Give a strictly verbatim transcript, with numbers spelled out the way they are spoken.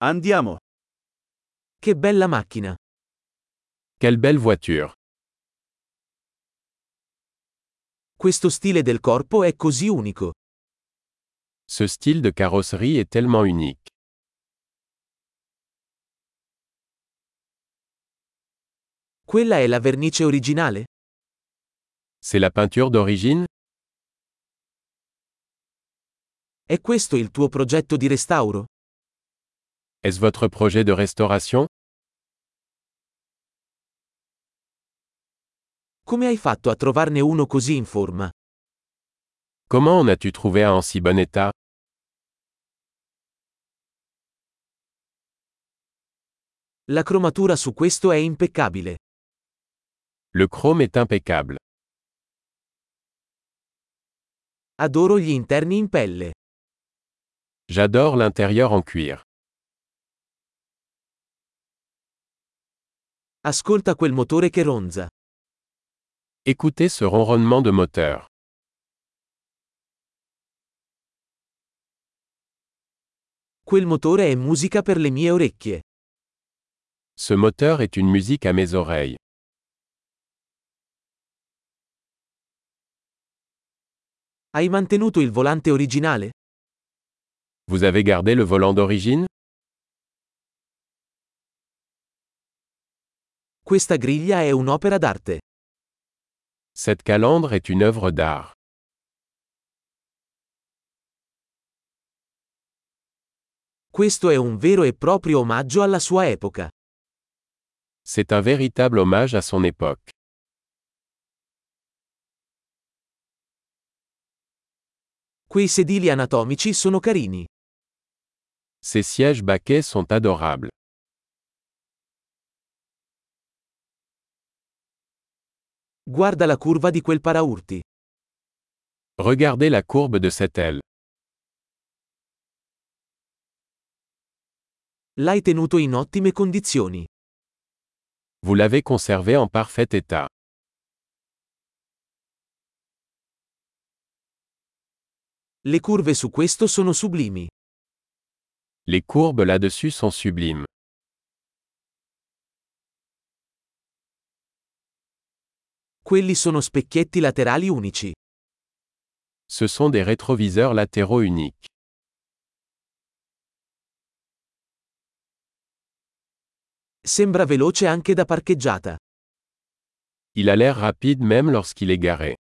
Andiamo. Che bella macchina! Quelle belle voiture. Questo stile del corpo è così unico. Ce style de carrosserie est tellement unique. Quella è la vernice originale? C'est la peinture d'origine? È questo il tuo progetto di restauro? Est-ce votre projet de restauration? Come hai fatto a trovarne uno così in forma? Comment en as-tu trouvé un en si bon état? La cromatura su questo è impeccabile. Le chrome est impeccable. Adoro gli interni in pelle. J'adore l'intérieur en cuir. Ascolta quel motore che ronza. Écoutez ce ronronnement de moteur. Quel motore è musica per le mie orecchie. Ce moteur est une musique à mes oreilles. Hai mantenuto il volante originale? Vous avez gardé le volant d'origine? Questa griglia è un'opera d'arte. Cette calandre est une œuvre d'art. Questo è un vero e proprio omaggio alla sua epoca. C'est un véritable hommage à son époque. Quei sedili anatomici sono carini. Ces sièges baquets sont adorables. Guarda la curva di quel paraurti. Regardez la courbe de cette aile. L'hai tenuto in ottime condizioni. Vous l'avez conservé en parfait état. Le curve su questo sono sublimi. Les courbes là-dessus sont sublimes. Quelli sono specchietti laterali unici. Ce sont des rétroviseurs latéraux uniques. Sembra veloce anche da parcheggiata. Il a l'air rapide même lorsqu'il est garé.